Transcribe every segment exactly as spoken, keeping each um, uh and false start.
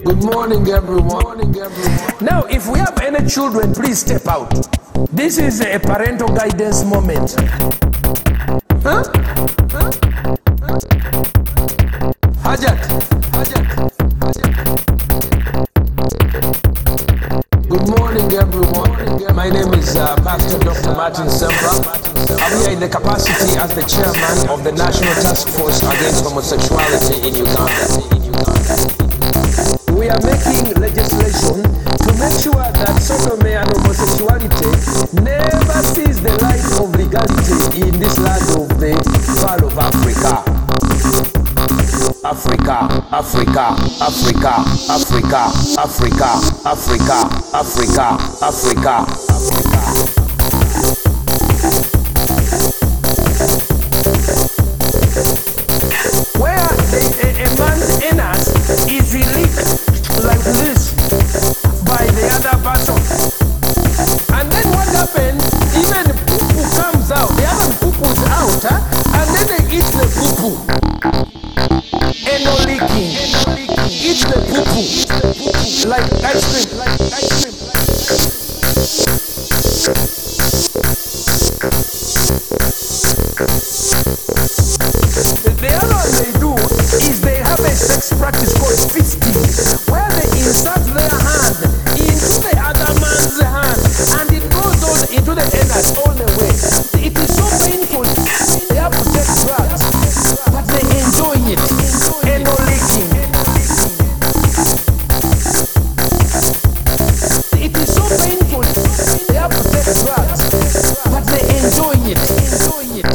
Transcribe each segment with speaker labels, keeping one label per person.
Speaker 1: Good morning, everyone. Morning, everyone. Now, if we have any children, please step out. This is a parental guidance moment. Huh? Huh? Hajat. Hajat. Hajat. Good morning, everyone. My name is uh, Pastor Doctor Martin Semper. I'm here in the capacity as the chairman of the National Task Force Against Homosexuality in Uganda. We are making legislation to make sure that sodomy and homosexuality never sees the light of legality in this land of the Pearl of Africa. Africa, Africa, Africa, Africa, Africa, Africa, Africa, Africa, Africa. Where a, a, a man's anus is released like this by the other person, and then what happens? Even poo-poo comes out. The other poo-poo's out, huh? And then they eat the poo-poo. Eno leaking, eat the poo-poo like ice cream, like ice cream. The other one they do is they have a sex practice called fisting, where they insert their hand into the other man's hand, and it goes on into the anus all the way. It is so painful. They have to take drugs, but they enjoy it. Eno leaking. It is so painful. They have to take drugs, but they enjoy it. Enjoy it.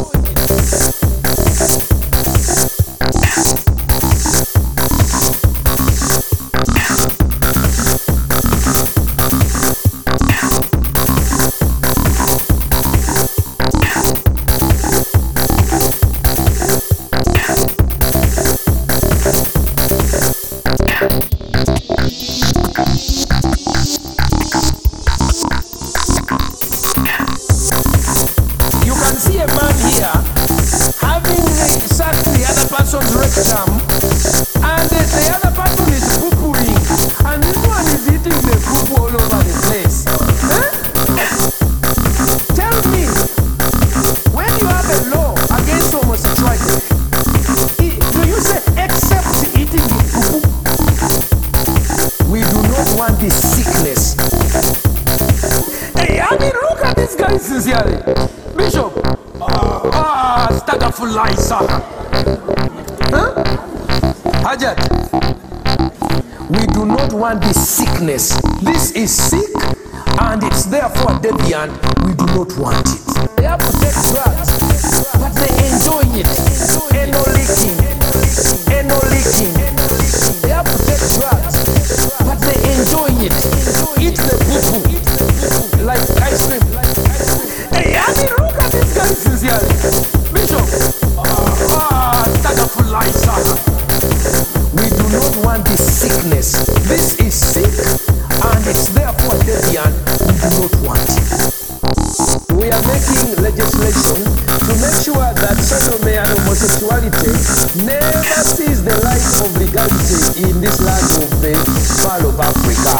Speaker 1: Bishop, ah, Stagafulaisa. Huh? Hajat, we do not want this sickness. This is sick and it's therefore deviant. We do not want it. They have to take drugs, but they enjoy it. Eno leaking, eno leaking. They have to take drugs, but they enjoy it. Eat the poo-poo like ice cream. Hey, I mean, look at this guy sincerely. Bishop, ah, Stagafulaisa. We do not want this sickness. This is sick and it's therefore deviant. We do not want it. We are making legislation to make sure that sodomy and homosexuality never sees the light of legality in this land of the Pearl of Africa.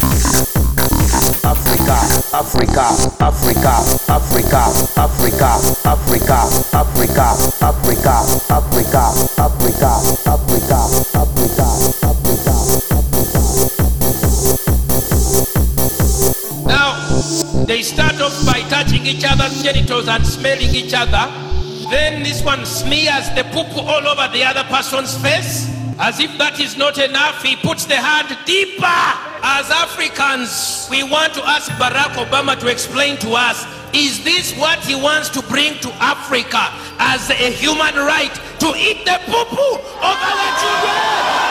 Speaker 1: Africa, Africa, Africa, Africa, Africa, Africa, Africa, Africa, Africa, Africa, Africa, Africa, Africa.
Speaker 2: Now, they start off by touching each other's genitals and smelling each other. Then this one smears the poo-poo all over the other person's face. As if that is not enough, he puts the hand deeper. As Africans, we want to ask Barack Obama to explain to us, is this what he wants to bring to Africa as a human right, to eat the poo-poo of our children?